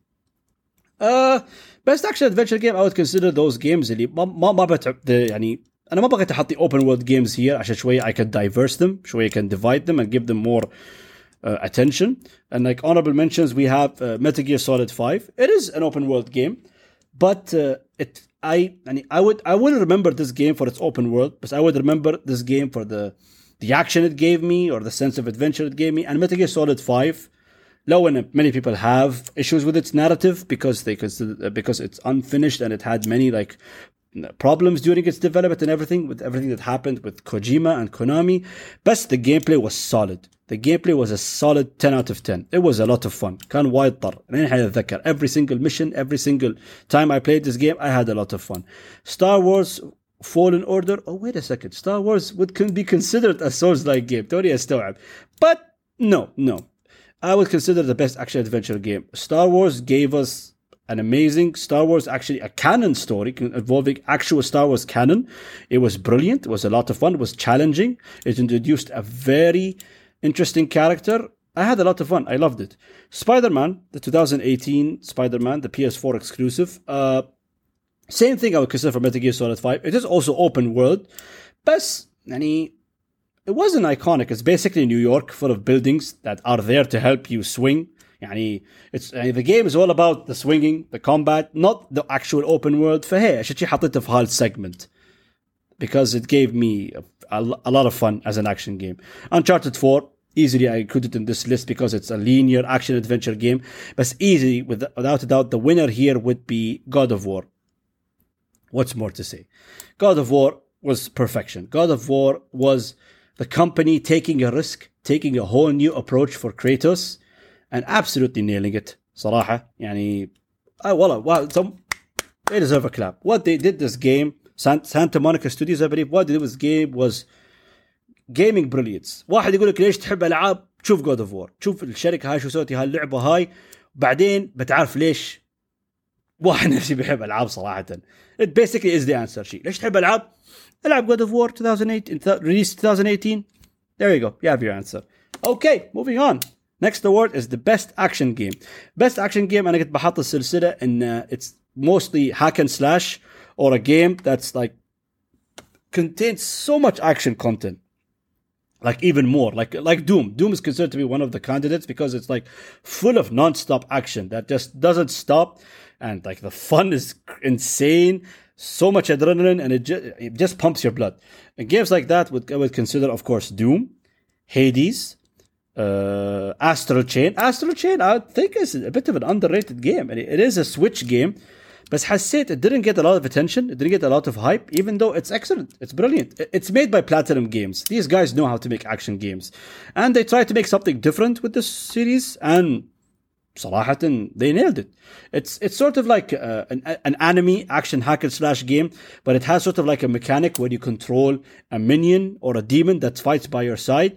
Uh, best action adventure game, I would consider those games اللي ما ما ما بتعب يعني أنا ما بغيت أحط open world games here عشان شوية I can diverse them, شوية I can divide them and give them more uh, attention. And like honorable mentions, we have uh, Metal Gear Solid five. It is an open world game, but uh, it I يعني I would I wouldn't remember this game for its open world, but I would remember this game for the the action it gave me or the sense of adventure it gave me. And Metal Gear Solid five. Low and many people have issues with its narrative because they consider because it's unfinished and it had many like problems during its development and everything with everything that happened with Kojima and Konami. But the gameplay was solid. The gameplay was a solid ten out of ten. It was a lot of fun. كان وايد طر. Every single mission, every single time I played this game, I had a lot of fun. Star Wars Fallen Order. Oh, wait a second. Star Wars would can be considered a Souls-like game. توني أستوعب. But no, no. I would consider the best action-adventure game. Star Wars gave us an amazing Star Wars, actually a canon story involving actual Star Wars canon. It was brilliant. It was a lot of fun. It was challenging. It introduced a very interesting character. I had a lot of fun. I loved it. Spider-Man, the twenty eighteen Spider-Man, the P S four exclusive. Uh, same thing I would consider for Metal Gear Solid five. It is also open world. But, يعني, it wasn't iconic. It's basically New York full of buildings that are there to help you swing. يعني, it's, يعني, the game is all about the swinging, the combat, not the actual open world. فهي عشان شي حطيته في هالsegment. Because it gave me a, a, a lot of fun as an action game. Uncharted four, easily I include it in this list because it's a linear action adventure game. But easily, with, without a doubt, the winner here would be God of War. What's more to say? God of War was perfection. God of War was the company taking a risk, taking a whole new approach for Kratos, and absolutely nailing it. صراحة, يعني, I, well, well, some, they deserve a clap. What they did this game, Santa Monica Studios, I believe, what they did with this game was gaming brilliance. واحد يقول لك ليش تحب ألعاب؟ شوف God of War. شوف الشركة هاي شو سوتي هاللعبة هاي، بعدين بتعرف ليش واحد نفسي بيحب ألعاب صراحة. It basically is the answer. شيء ليش تحب ألعاب؟ ألعاب God of War twenty eight, released twenty eighteen. There you go. You have your answer. Okay, moving on. Next award is the best action game. Best action game أنا كنت بحط السلسلة إن it's mostly hack and slash or a game that's like contains so much action content. Like even more, like like Doom. Doom is considered to be one of the candidates because it's like full of non-stop action that just doesn't stop, and like the fun is insane. So much adrenaline, and it just, it just pumps your blood. And games like that would I would consider, of course, Doom, Hades, uh, Astral Chain. Astral Chain, I think, is a bit of an underrated game, and it is a Switch game. But حسيت it didn't get a lot of attention, it didn't get a lot of hype, even though it's excellent, it's brilliant. It's made by Platinum Games. These guys know how to make action games. And they tried to make something different with this series, and صراحة, they nailed it. It's it's sort of like uh, an, an anime action hack and slash game, but it has sort of like a mechanic where you control a minion or a demon that fights by your side.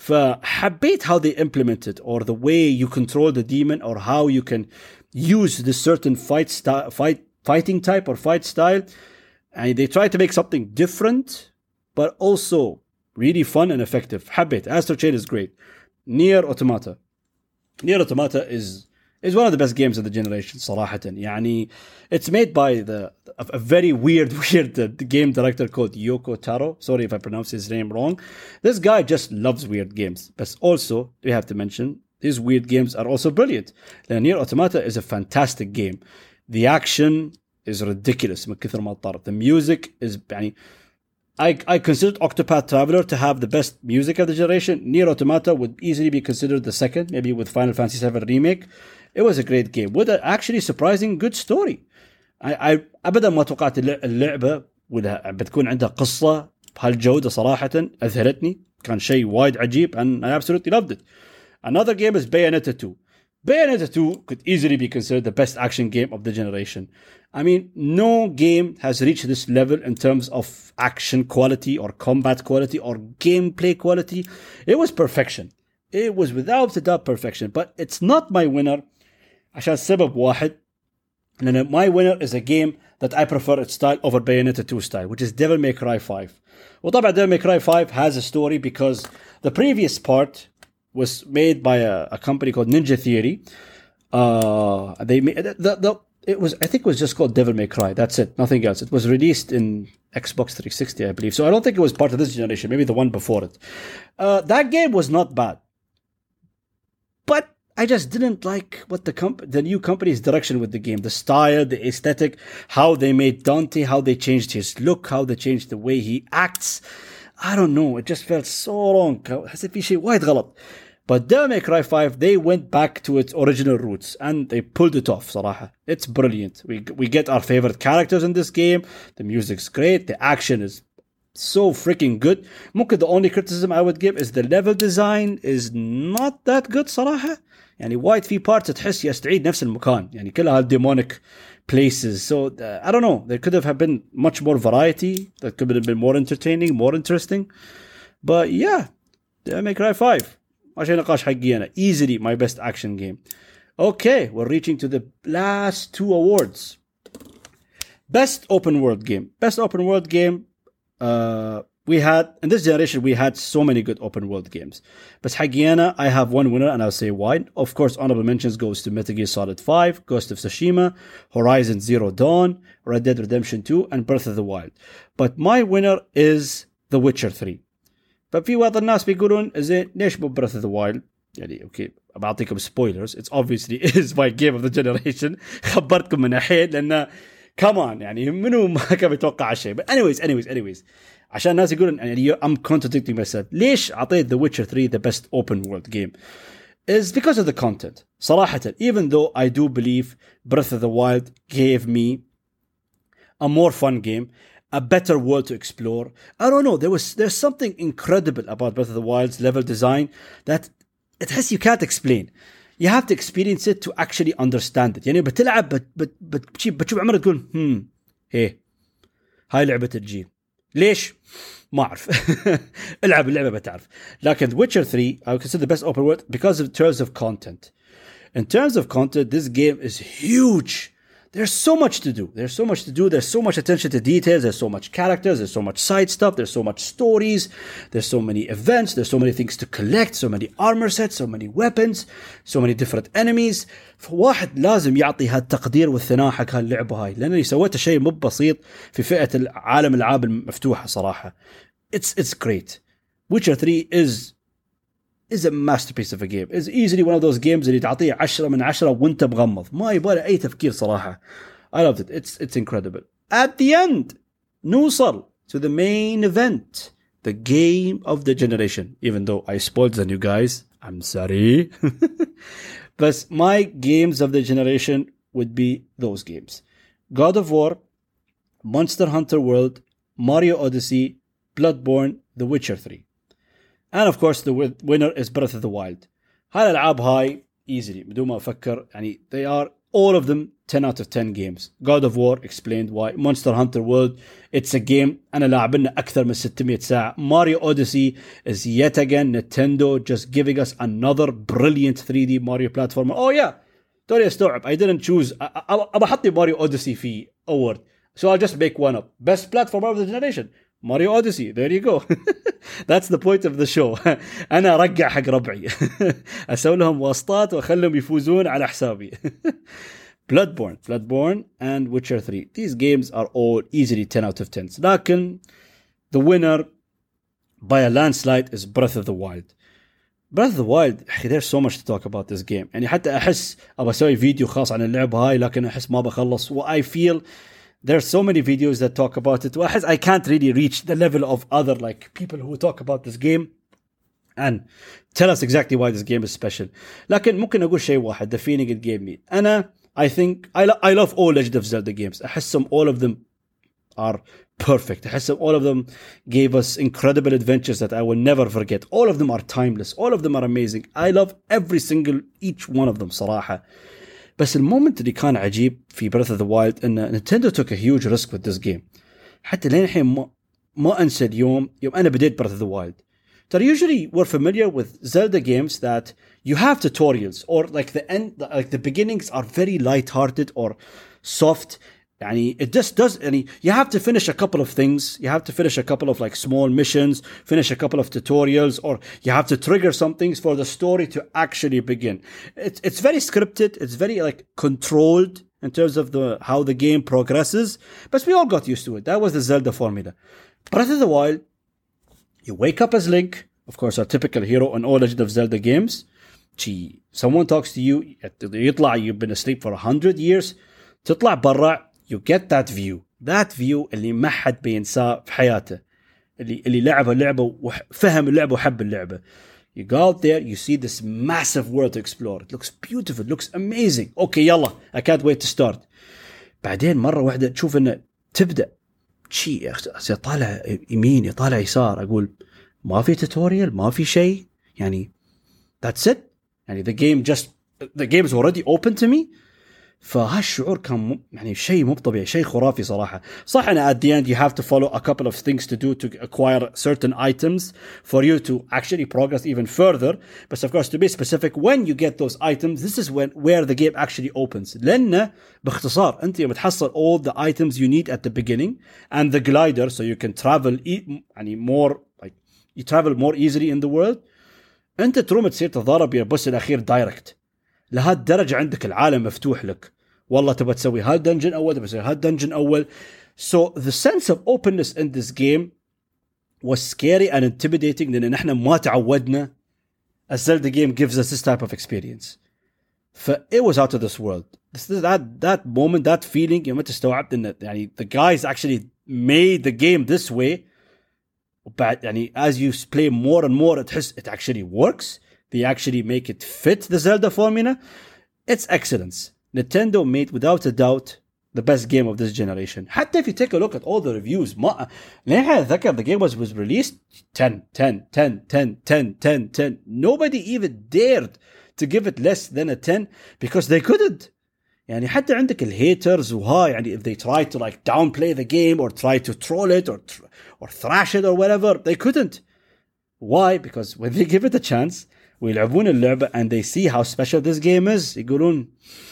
فحبيت how they implement it, or the way you control the demon, or how you can use this certain fight style, fight fighting type or fight style, and they try to make something different, but also really fun and effective. حبيت. Astral Chain is great. Nier Automata. Nier Automata is is one of the best games of the generation. صراحة. يعني, it's made by the a, a very weird, weird uh, game director called Yoko Taro. Sorry if I pronounce his name wrong. This guy just loves weird games. But also, we have to mention, these weird games are also brilliant. Nier Automata is a fantastic game. The action is ridiculous. من كثر ما طار. The music is يعني, I I considered Octopath Traveler to have the best music of the generation. Nier Automata would easily be considered the second, maybe with Final Fantasy seven Remake. It was a great game with an actually surprising good story. I I أبدا ما توقعت اللعبة ولا بتكون عندها قصة بهالجودة صراحة. أذهلتني. كان شيء وايد عجيب, and I absolutely loved it. Another game is Bayonetta two. Bayonetta two could easily be considered the best action game of the generation. I mean, no game has reached this level in terms of action quality or combat quality or gameplay quality. It was perfection. It was without a doubt perfection. But it's not my winner عشان سبب واحد. And my winner is a game that I prefer its style over Bayonetta two style, which is Devil May Cry five. وطبعا Devil May Cry five has a story because the previous part was made by a, a company called Ninja Theory. Uh, they made the, the it was I think it was just called Devil May Cry. That's it, nothing else. It was released in Xbox three sixty, I believe. So I don't think it was part of this generation. Maybe the one before it. Uh, that game was not bad, but I just didn't like what the comp- the new company's direction with the game, the style, the aesthetic, how they made Dante, how they changed his look, how they changed the way he acts. I don't know. It just felt so wrong. حسيت في شيء وايد غلط. But Devil May Cry five, they went back to its original roots and they pulled it off. صراحة, it's brilliant. We we get our favorite characters in this game. The music's great. The action is so freaking good. ممكن the only criticism I would give is the level design is not that good صراحة. يعني وايد في parts تحس يستعيد نفس المكان. يعني كلها demonic places. So uh, I don't know. There could have been much more variety. That could have been more entertaining, more interesting. But yeah, Devil May Cry five. عشان نقاش حقي أنا. Easily my best action game. Okay, we're reaching to the last two awards. Best open world game. Best open world game. Uh, we had in this generation we had so many good open world games. But حقي أنا I have one winner and I'll say why. Of course, honorable mentions goes to Metal Gear Solid five, Ghost of Tsushima, Horizon Zero Dawn, Red Dead Redemption two, and Breath of the Wild. But my winner is The Witcher three. ففي بعض الناس بيقولون زين ليش مو Breath of the Wild؟ يعني اوكي بعطيكم spoilers. It's obviously is my game of the generation. خبرتكم من الحين لأنه come on يعني منو ما كان يتوقع شيء. But anyways anyways anyways عشان الناس يقولون يعني I'm contradicting myself. ليش أعطيت The Witcher three the best open world game? Is because of the content. صراحة even though I do believe Breath of the Wild gave me a more fun game, a better world to explore. I don't know. There was there's something incredible about Breath of the Wild's level design that it has you can't explain. You have to experience it to actually understand it. يعني بتلعب بت بت بت بتشوف عمرك تقول هم إيه هاي لعبة الجيل. ليش؟ ما أعرف. العب اللعبة بتعرف. لكن Witcher three I would consider the best open world because of terms of content. In terms of content, this game is huge. There's so much to do. There's so much to do. There's so much attention to details. There's so much characters. There's so much side stuff. There's so much stories. There's so many events. There's so many things to collect. So many armor sets. So many weapons. So many different enemies. فواحد لازم يعطي هالتقدير والثناء حق هاللعبة هاي لأنني سويت شيء مو بسيط في فئة العالم الألعاب المفتوحة صراحة. It's it's great. Witcher three is is a masterpiece of a game. It's easily one of those games اللي تعطيه عشرة من عشرة وانت مغمض. ما يبغى أي تفكير صراحة. I loved it. It's it's incredible. At the end, نوصل to the main event, the game of the generation. Even though I spoiled the new guys, I'm sorry. But my games of the generation would be those games: God of War, Monster Hunter World, Mario Odyssey, Bloodborne, The Witcher three. And of course the winner is Breath of the Wild. هاي الألعاب هاي easily بدون ما أفكر يعني they are all of them ten out of ten games. God of War explained why. Monster Hunter World it's a game أنا لاعبنا أكثر من ستمية ساعة. Mario Odyssey is yet again Nintendo just giving us another brilliant three D Mario platformer. Oh yeah توني أستوعب I didn't choose أبى أحطي Mario Odyssey في award so I'll just make one up. Best platformer of the generation Mario Odyssey. There you go. That's the point of the show. أنا أرجع حق ربعي. أسوي لهم واسطات وأخلهم يفوزون على حسابي. Bloodborne, Bloodborne and Witcher three. These games are all easily ten out of ten. لكن the winner by a landslide is Breath of the Wild. Breath of the Wild, there's so much to talk about this game. يعني حتى أحس أبغى أسوي فيديو خاص عن اللعبة هاي لكن أحس ما بخلص. I feel there's so many videos that talk about it. I can't really reach the level of other like people who talk about this game and tell us exactly why this game is special. لكن ممكن أقول شيء واحد. The feeling it gave me. أنا I think I, lo- I love all Legend of Zelda games. أحسهم all of them are perfect. أحسهم all of them gave us incredible adventures that I will never forget. All of them are timeless. All of them are amazing. I love every single each one of them صراحة. بس المومنت اللي كان عجيب في Breath of the Wild إن Nintendo took a huge risk with this game. حتى لين الحين ما ما أنسى اليوم يوم أنا بديت Breath of the Wild. So usually we're familiar with Zelda games that you have tutorials or like the end, like the beginnings are very light-hearted or soft. يعني it just does. يعني you have to finish a couple of things. You have to finish a couple of like small missions, finish a couple of tutorials, or you have to trigger some things for the story to actually begin. It's it's very scripted. It's very like controlled in terms of the how the game progresses. But we all got used to it. That was the Zelda formula. Breath of the Wild, you wake up as Link, of course, our typical hero in all Legend of Zelda games. Gee, someone talks to you. يطلع you've been asleep for a hundred years. تطلع برا. You get that view. That view اللي ما حد بينساه في حياته. اللي اللي لعب اللعبة وفهم اللعبة وحب اللعبة. You go out there, you see this massive world to explore. It looks beautiful, it looks amazing. Okay, يلا, I can't wait to start. بعدين مرة واحدة تشوف إنه تبدأ شيء يطالع يمين يطالع يسار. أقول ما في tutorial, ما في شيء. يعني that's it. يعني the game just the game is already open to me. فهالشعور كان يعني شيء مو طبيعي, شيء خرافي صراحة. صح أنا at the end you have to follow a couple of things to do to acquire certain items for you to actually progress even further. But of course to be specific, when you get those items, this is when where the game actually opens. لأن باختصار أنت يوم تحصل all the items you need at the beginning and the glider so you can travel يعني more like you travel more easily in the world. أنت تروم تصير تضارب يا بس الأخير دايركت لهالدرجة, عندك العالم مفتوح لك, والله تبى تسوي هالدنجن أول تبى تسوي هالدنجن أول. So the sense of openness in this game was scary and intimidating لأن نحن ما تعودنا a Zelda game gives us this type of experience. ف it was out of this world. This, that, that moment, that feeling يوم تستوعبت إن يعني the guys actually made the game this way. وبعد يعني as you play more and more تحس it actually works. They actually make it fit the Zelda formula. It's excellence. Nintendo made without a doubt the best game of this generation. حتى if you take a look at all the reviews, ما ليه أتذكر the game was was released ten, ten, ten, ten, ten, ten, ten. Nobody even dared to give it less than a ten because they couldn't. يعني حتى عندك الهيترز وها يعني if they tried to like downplay the game or try to troll it or or thrash it or whatever, they couldn't. Why? Because when they give it a chance ويلعبون اللعبة and they see how special this game is, يقولون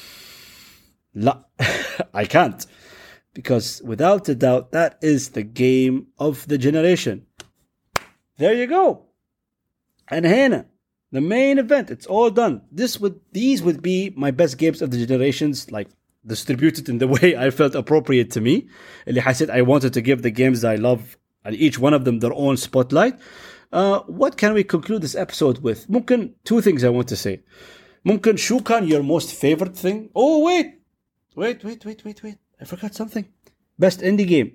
لا I can't, because without a doubt that is the game of the generation. There you go. And هنا the main event, it's all done. This would these would be my best games of the generations, like distributed in the way I felt appropriate to me. اللي حسيت I wanted to give the games I love and each one of them their own spotlight. Uh, what can we conclude this episode with? ممكن two things I want to say. ممكن شو كان your most favorite thing? Oh wait, wait, wait, wait, wait, wait. I forgot something. Best indie game.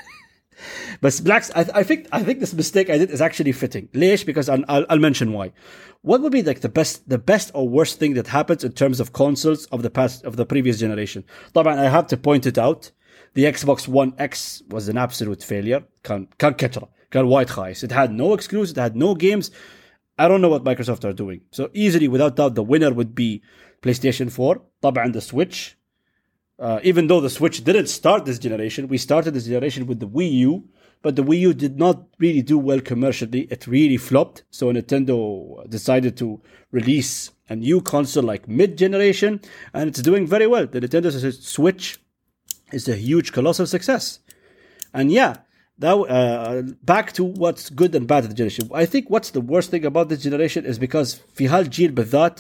But Blacks, I, I think I think this mistake I did is actually fitting. ليش? Because I'll, I'll, I'll mention why. What would be like the best, the best or worst thing that happens in terms of consoles of the past of the previous generation? طبعا I have to point it out. The Xbox One X was an absolute failure. كان كان كترة. كان وايد خايس. It had no exclusives. It had no games. I don't know what Microsoft are doing. So easily, without doubt, the winner would be PlayStation four. طبعا the Switch. Uh, even though the Switch didn't start this generation, we started this generation with the Wii U, but the Wii U did not really do well commercially. It really flopped. So Nintendo decided to release a new console like mid-generation, and it's doing very well. The Nintendo Switch is a huge, colossal success. And yeah, that, uh, back to what's good and bad of the generation. I think what's the worst thing about this generation is because في هالجيل بالذات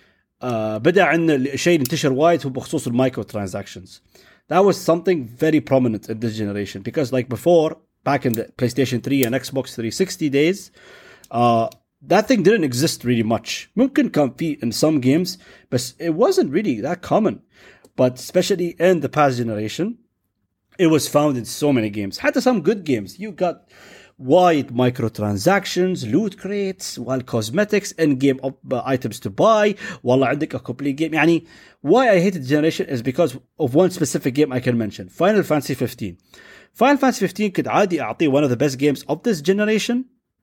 Uh, بدأ عندنا شيء انتشر وايد هو بخصوص المايكرو transactions. That was something very prominent in this generation because like before, back in the PlayStation three and Xbox three sixty days, uh, that thing didn't exist really much. ممكن كان في in some games, but it wasn't really that common. But especially in the past generation, it was found in so many games. حتى some good games. You got wide microtransactions, loot crates, while cosmetics, in-game uh, items to buy. والله عندك a complete game. يعني why I hated the generation is because of one specific game I can mention. Final Fantasy fifteen. Final Fantasy fifteen could عادي أعطيه one of the best games of this generation,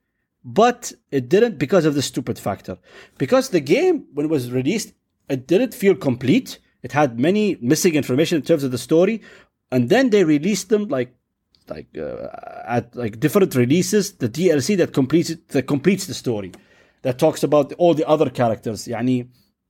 but it didn't because of the stupid factor. Because the game, when it was released, it didn't feel complete. It had many missing information in terms of the story. And then they released them like like uh, at like different releases, the D L C that completes it, that completes the story, that talks about all the other characters. يعني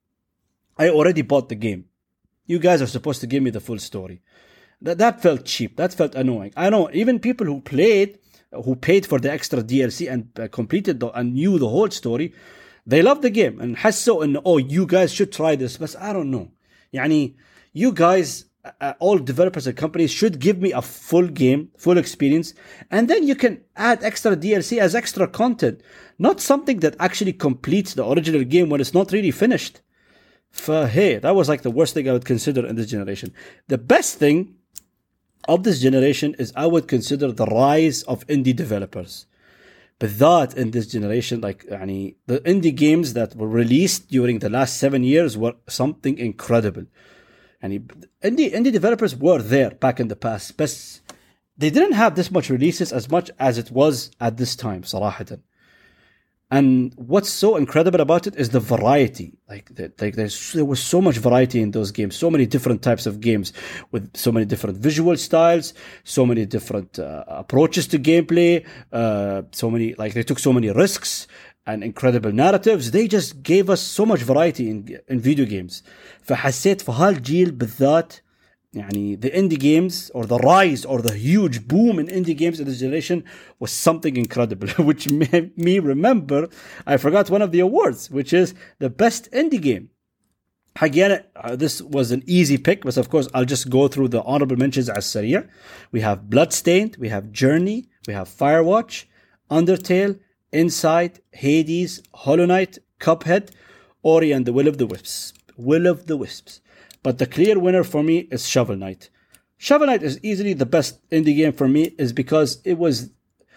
I already bought the game. You guys are supposed to give me the full story. That that felt cheap. That felt annoying. I know even people who played, who paid for the extra D L C and uh, completed the, and knew the whole story, they loved the game and حسوا إنه oh you guys should try this. But I don't know. يعني you guys. Uh, all developers and companies should give me a full game, full experience, and then you can add extra D L C as extra content, not something that actually completes the original game when it's not really finished. For hey, that was like the worst thing I would consider in this generation. The best thing of this generation is I would consider the rise of indie developers. But that in this generation, like يعني, the indie games that were released during the last seven years were something incredible. And indie indie developers were there back in the past, but they didn't have this much releases as much as it was at this time, صراحة. And what's so incredible about it is the variety. Like, the, like there's, there was so much variety in those games. So many different types of games with so many different visual styles, so many different uh, approaches to gameplay. Uh, so many, like they took so many risks and incredible narratives. They just gave us so much variety in in video games. فحسيت في هالجيل بالذات يعني the indie games or the rise or the huge boom in indie games in this generation was something incredible, which made me remember, I forgot one of the awards, which is the best indie game. Again, uh, this was an easy pick, but of course I'll just go through the honorable mentions as Saria. We have Bloodstained, we have Journey, we have Firewatch, Undertale, Inside, Hades, Hollow Knight, Cuphead, Ori and the Will of the Wisps. Will of the Wisps. But the clear winner for me is Shovel Knight. Shovel Knight is easily the best indie game for me, is because it was,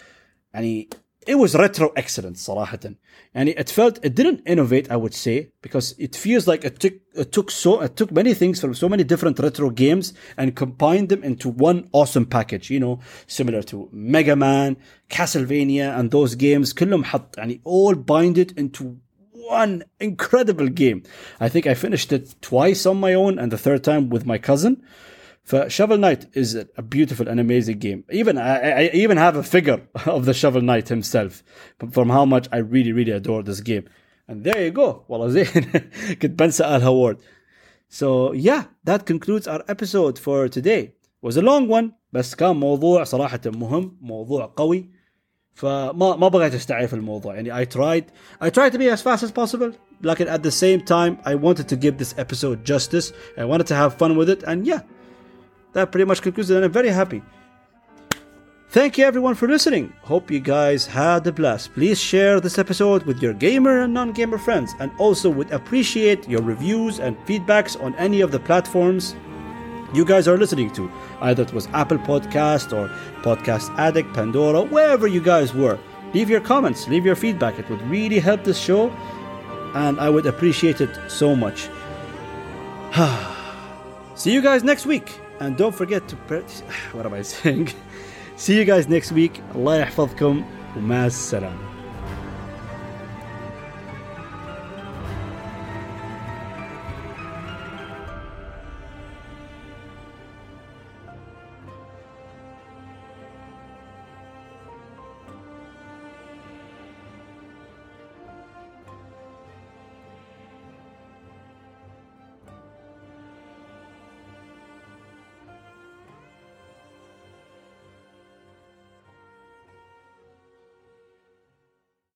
يعني, it was retro excellence صراحة. And it felt, it didn't innovate, I would say, because it feels like it took it took so it took many things from so many different retro games and combined them into one awesome package. You know, similar to Mega Man, Castlevania, and those games. كلهم حط يعني all bind it into one incredible game. I think I finished it twice on my own and the third time with my cousin. For Shovel Knight is a beautiful and amazing game. Even I, I even have a figure of the Shovel Knight himself from how much I really really adore this game. And there you go. والله زين كنت بنسى الهوارد. So yeah, that concludes our episode for today. It was a long one, بس كان موضوع صراحة مهم, موضوع قوي. فما ما بغيت استعجل في الموضوع. يعني I tried I tried to be as fast as possible, لكن at the same time I wanted to give this episode justice. I wanted to have fun with it, and yeah, that pretty much concludes it, and I'm very happy. Thank you everyone for listening. Hope you guys had a blast. Please share this episode with your gamer and non-gamer friends, and also would appreciate your reviews and feedbacks on any of the platforms you guys are listening to. Either it was Apple Podcast or Podcast Addict, Pandora, wherever you guys were. Leave your comments, leave your feedback. It would really help this show, and I would appreciate it so much. See you guys next week. And don't forget to... What am I saying? See you guys next week. Allah يحفظكم ومع السلامة.